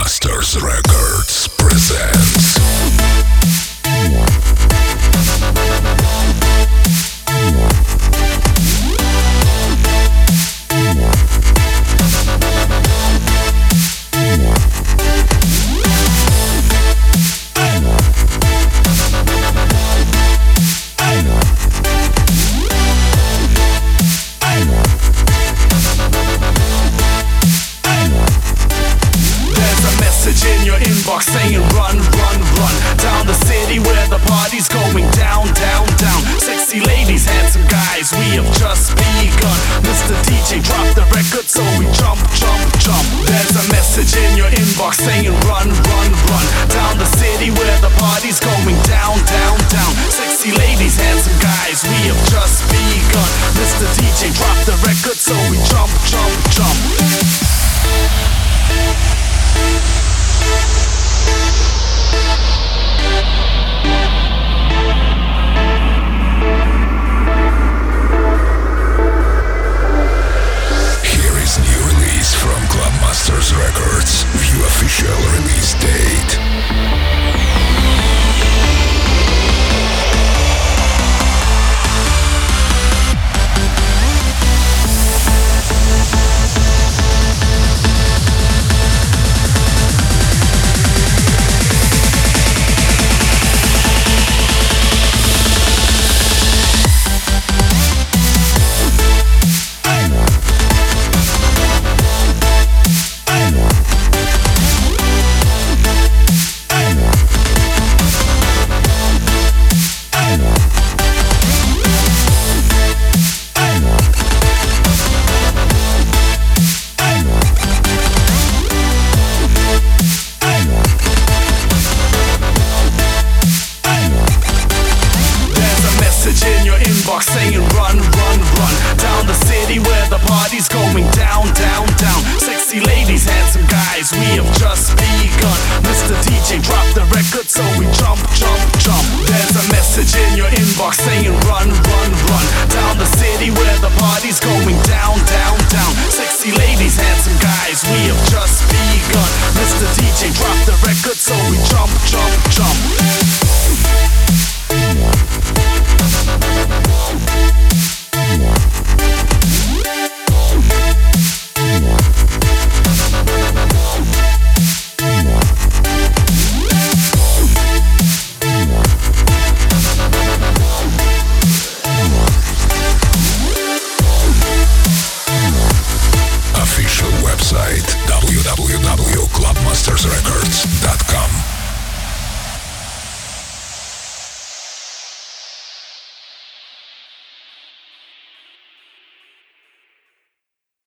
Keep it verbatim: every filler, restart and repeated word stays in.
Clubmasters Records presents. In your inbox saying run, run, run down the city where the party's going down, down, down. Sexy ladies, handsome guys, we have just begun. Mister D J, drop the record so we jump, jump, jump. There's a message in your inbox saying run, run, run down the city where the party's going down, down, down. Sexy ladies, handsome guys, we have just begun. Mister D J, drop the record so we jump, jump, jump. Here is new release from Clubmasters Records. View official release date.